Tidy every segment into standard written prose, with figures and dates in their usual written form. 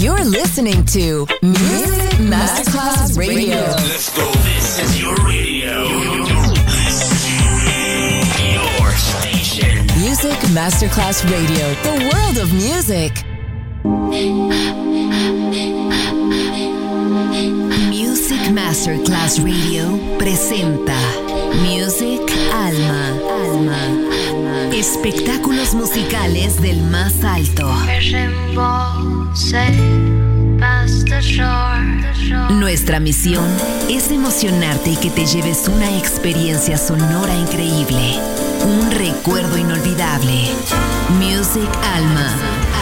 You're listening to Music Masterclass Radio. Let's go. This is your radio. Your station. Music Masterclass Radio. The world of music. Music Masterclass Radio presenta Music Alma. Espectáculos musicales del más alto. Nuestra misión es emocionarte y que te lleves una experiencia sonora increíble, un recuerdo inolvidable. Music Alma.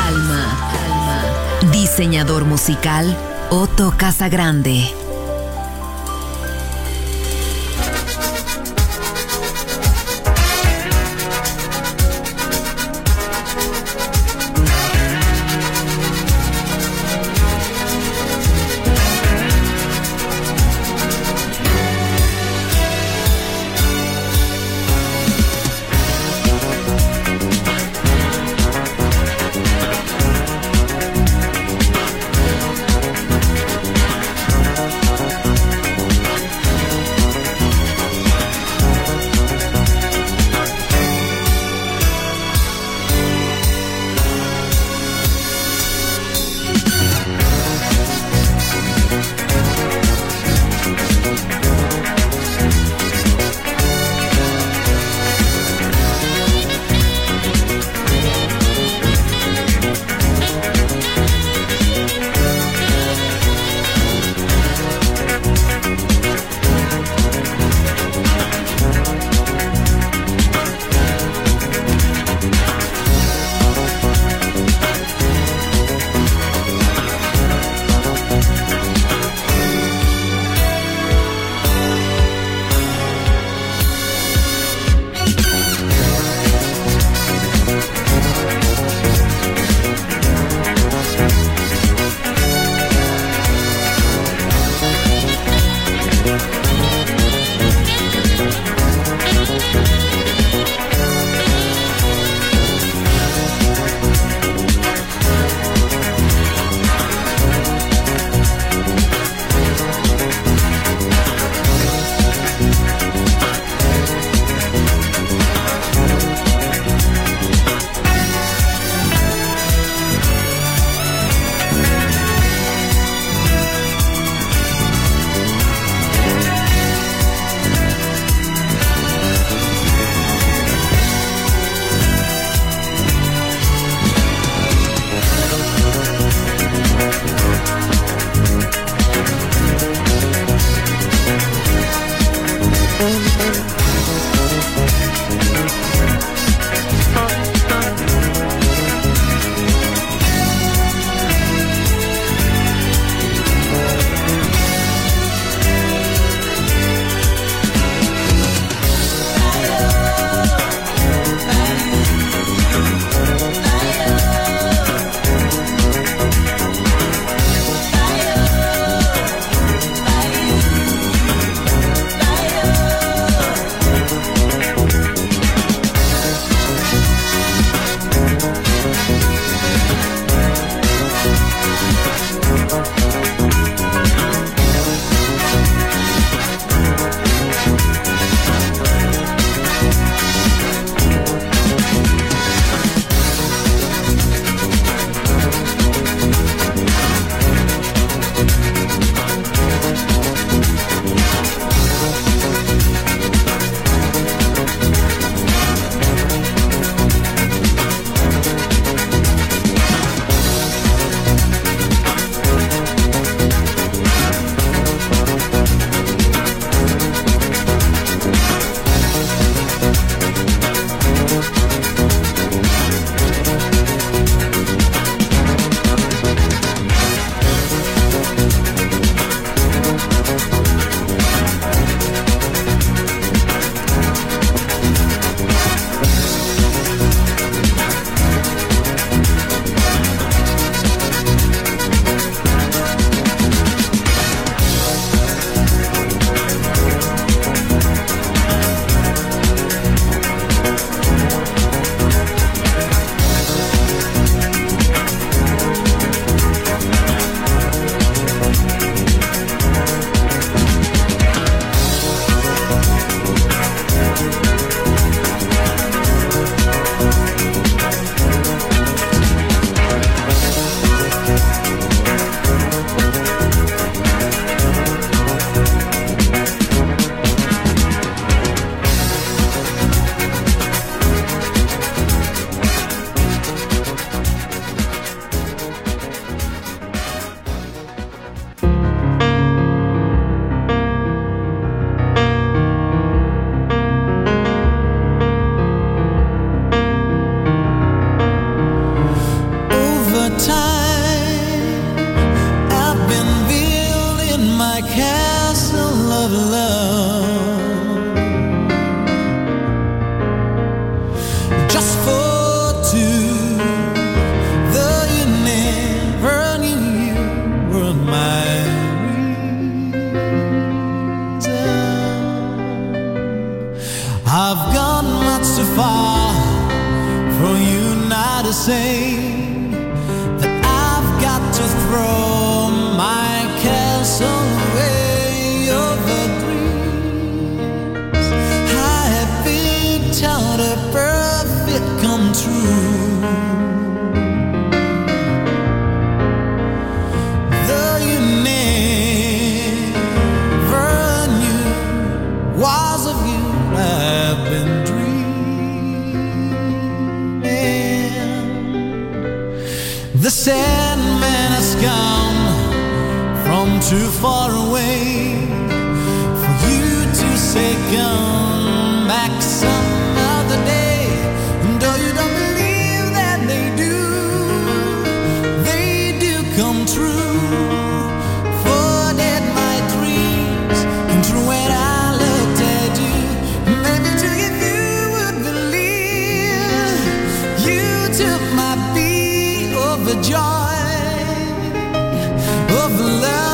Diseñador musical Otto Casagrande. that man has come from too far away for you to say come back some other day. And though you don't believe that they do come true. For that my dreams come true when I looked at you. Maybe to if you would believe, you took my beat over joy, over love.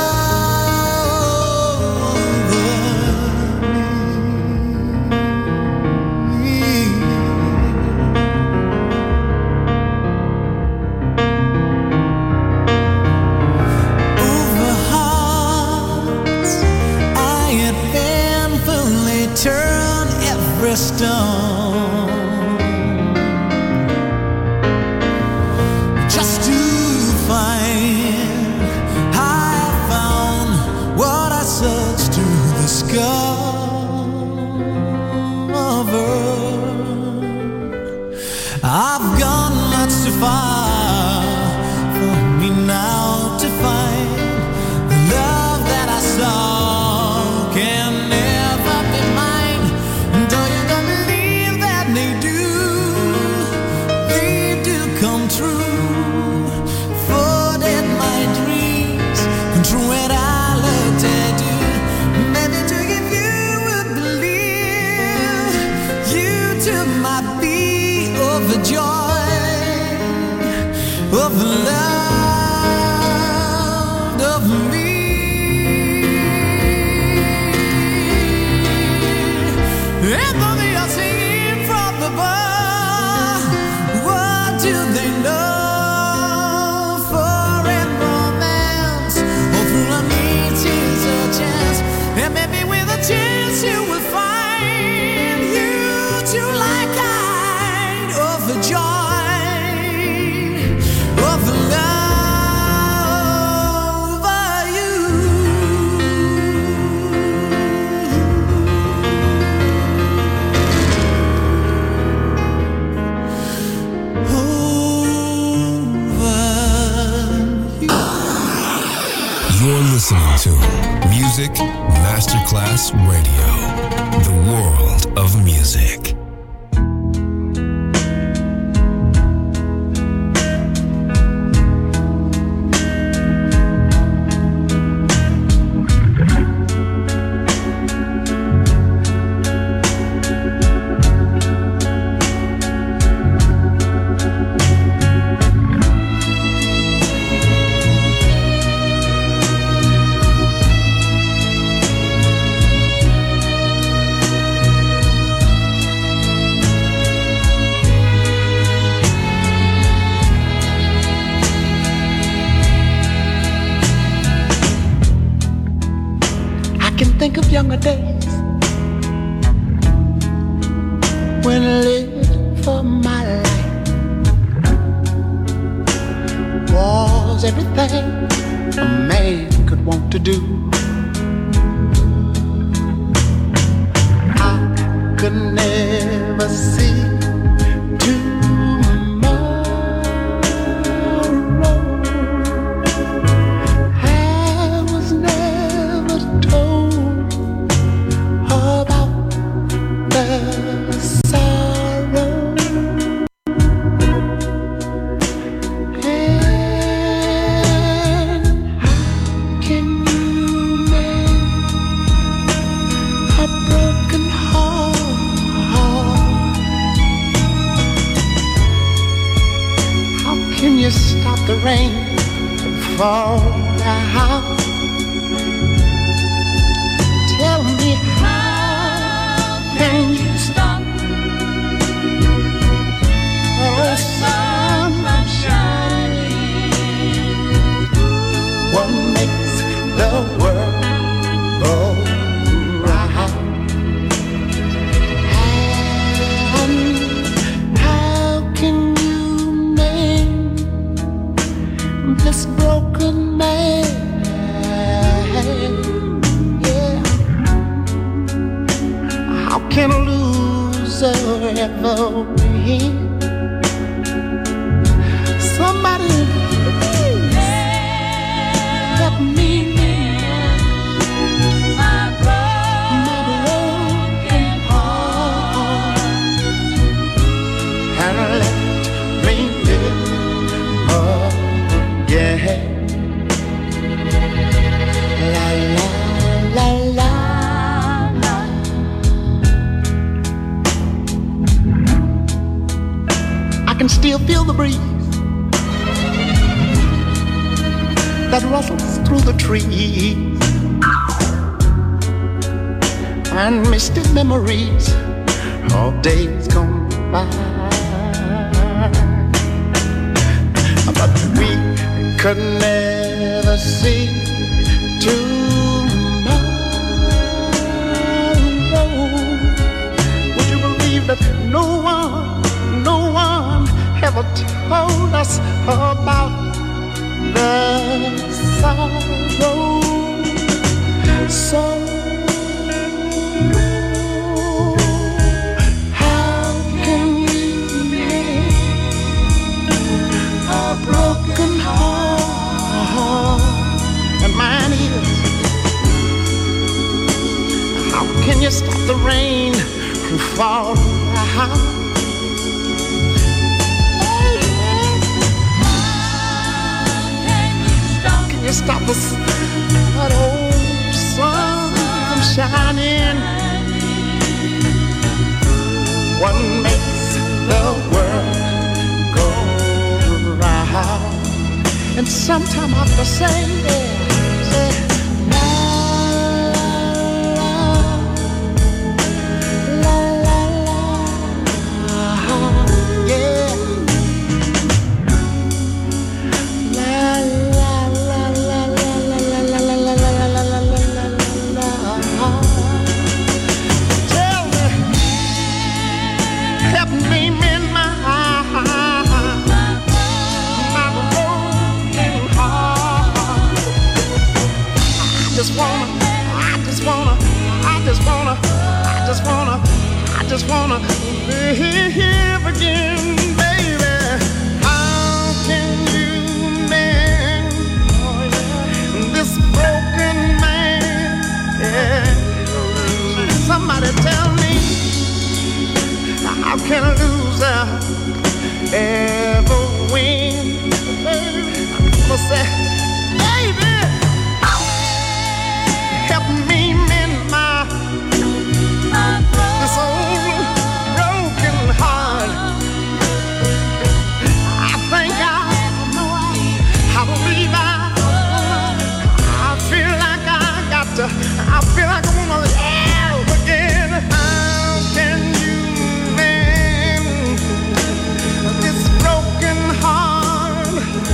Turn every stone just to find I found what I searched to discover. I've gone much too far for me now to find the love that I saw can never be mine. Though you don't believe that they do come true. For that my dreams come true when I looked at you. Maybe to if you would believe, you took my beat over joy, over love, over me. And though they are singing from the bar, what do they know? For in romance, or through a meeting's a chance, and maybe with a chance you will find you too like kind of a joy, of love for you. You're listening to Music Masterclass Radio, the world of music. Think of younger days when I lived for my life. Was everything a man could want to do. I could never see the rain fall down. Tell me, how can you stop the sun from shining? What makes the world go round? And how can you make this broken man? Yeah. How can a loser ever win? Somebody feel the breeze that rustles through the trees, and misty memories of days gone by. But we could never see tomorrow. Would you believe that no one ever told us about the sorrow? So how can we mend a broken heart? And mine is, how can you stop the rain from falling? How can you stop that old sun from shining? What makes the world go round? And sometime I have to say, I just wanna live again, baby. How can you mend this broken man? Yeah. Somebody tell me, how can a loser ever win? I'm gonna say, baby, help me mend this old broken heart. I think I believe I feel like I feel like I wanna live again. How can you mend this broken heart?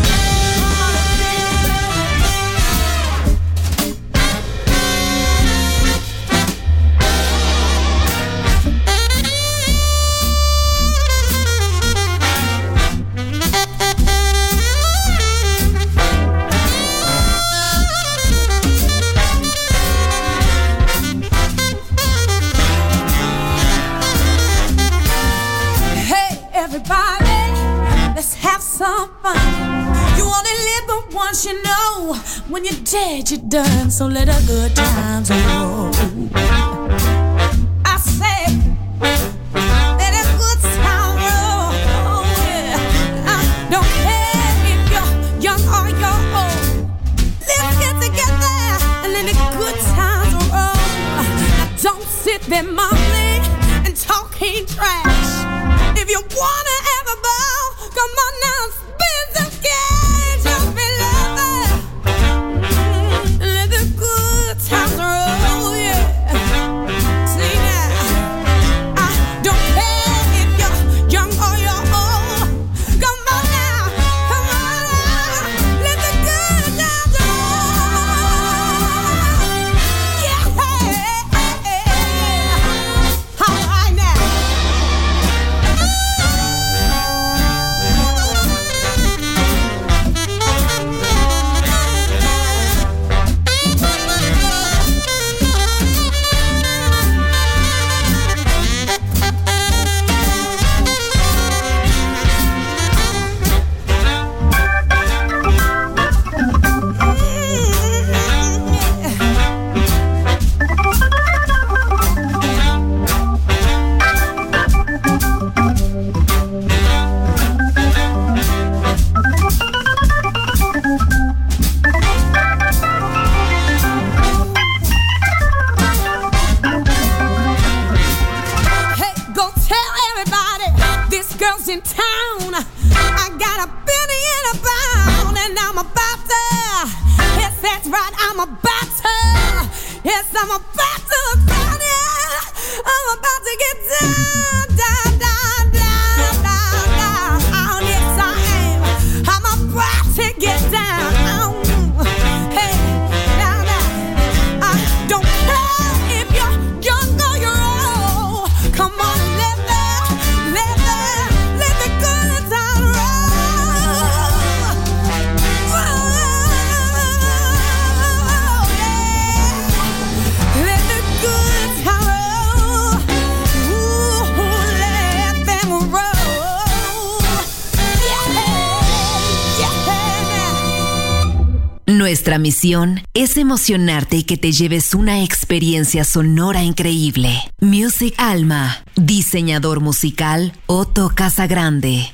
You know, when you're dead, you're done. So let the good times roll. I say, let a good time roll. Yeah. I don't care if you're young or you're old. Let's get together and let the good times roll. Now don't sit there mumbling and talking trash. If you wanna have a ball, come on now, spin some cash. Times roll, yeah. See now, I don't care if you're young or you're old. Come on now, let the good times roll. Yeah, all right now. about to, yes, I'm about to burn it. I'm about to get down, down, down, down, down, down. Yes, I am. I'm about to get down. Hey, down, down. I don't care if you're young or you're old. Come on, let the good time roll. Let the good time roll. Ooh, let them roll. Nuestra misión es emocionarte y que te lleves una experiencia sonora increíble. Music Alma, diseñador musical Otto Casagrande.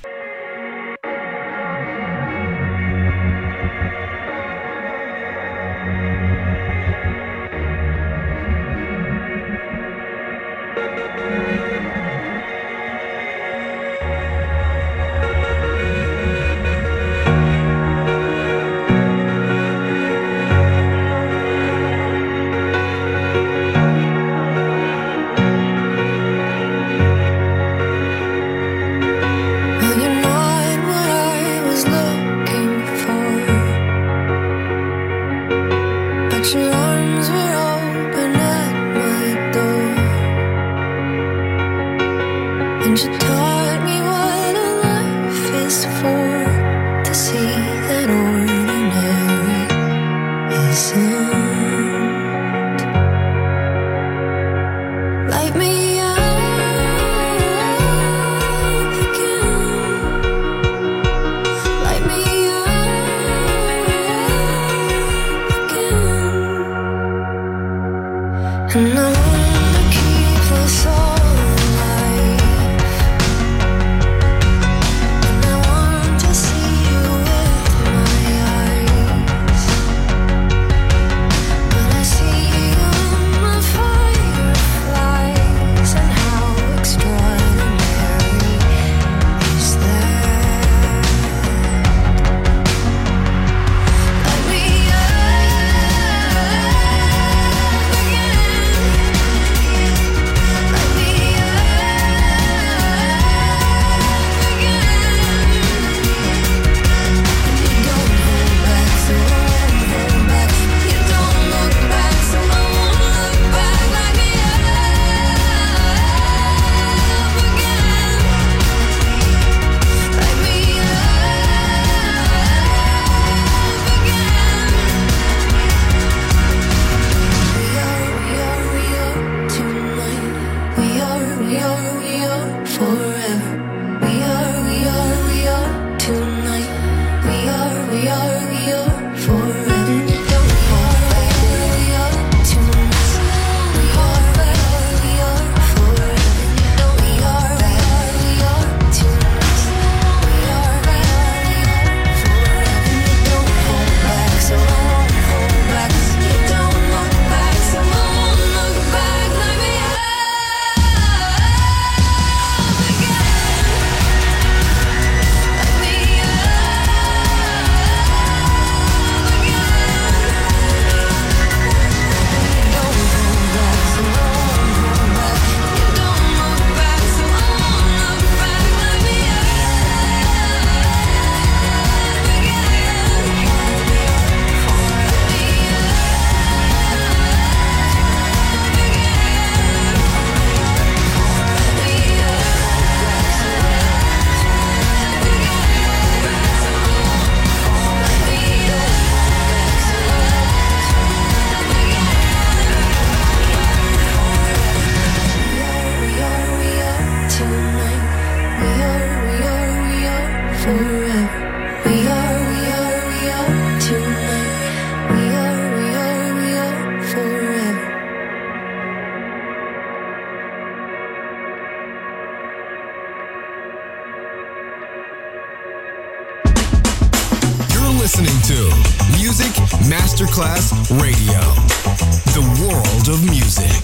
listening to Music Masterclass Radio, the world of music.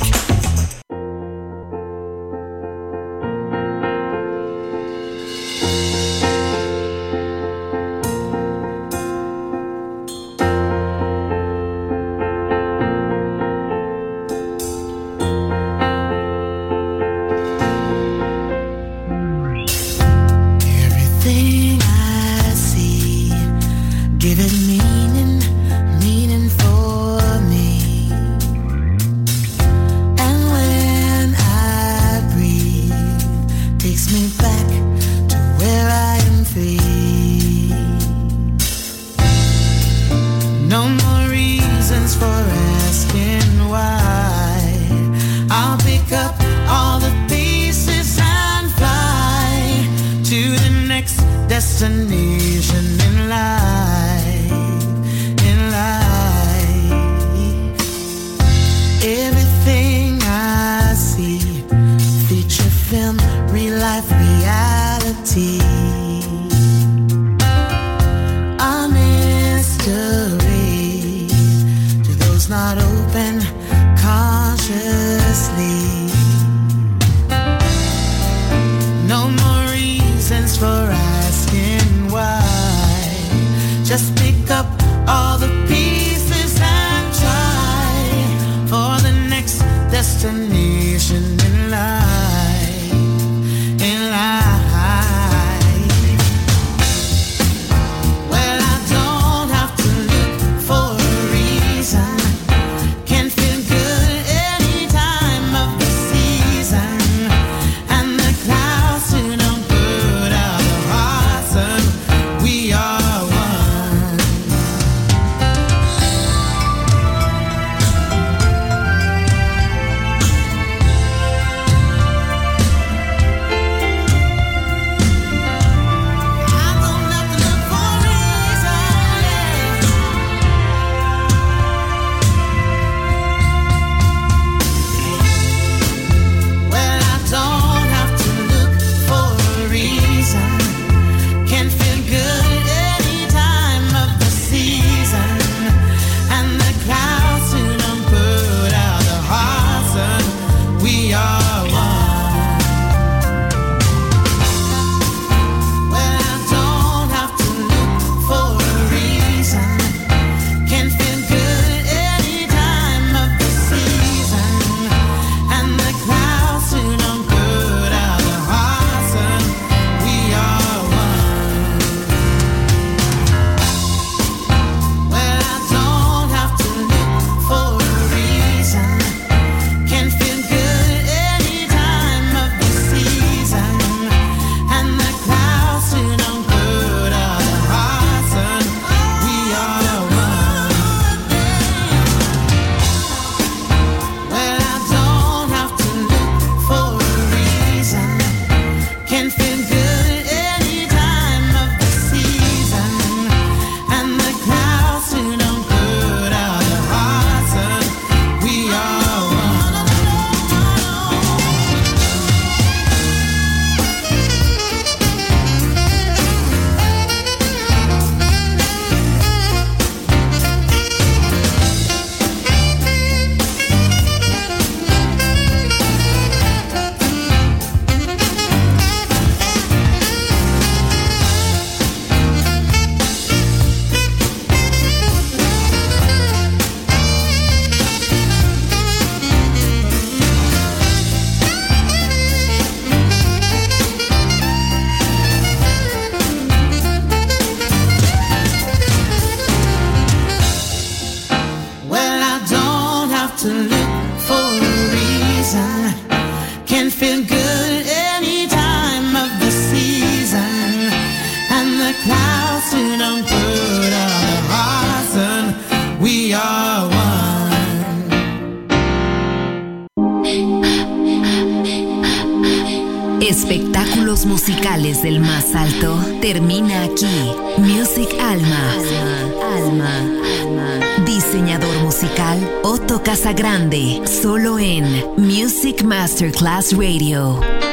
No more reasons for asking why. I'll pick up all the pieces and fly to the next destination in life. In life, everything I see, feature film, real life, reality. A mystery to those not open cautiously. No more reasons for asking why. Just pick up all the pieces and try for the next destination in life. In life. Well, I don't have to look for a reason. Can feel good any time of the season. And the clouds who don't put out the hearts, and we are one. I don't have to look for a reason, Well, I don't have to look for a reason. Can feel good any time of the season. And the clouds who don't put out the hearts, and we are one. Well, I don't have to look for a reason. Can feel good any time of the season. And the clouds who don't put out the hearts, and we are one. Well, I don't have to look for a reason. Can feel good any time of the season. And the clouds who don't put out the hearts, and we are one. Well, I don't have to look for a reason. Can feel good any time of the season. And the clouds who don't put out the hearts, and we are one. Well, I don't have to look for a reason. Can feel good any time of the season. And the clouds who don't put out the hearts, and we are one. Espectáculos musicales del más alto termina aquí. Music Alma. Diseñador musical Otto Casagrande, solo en Music Masterclass Radio.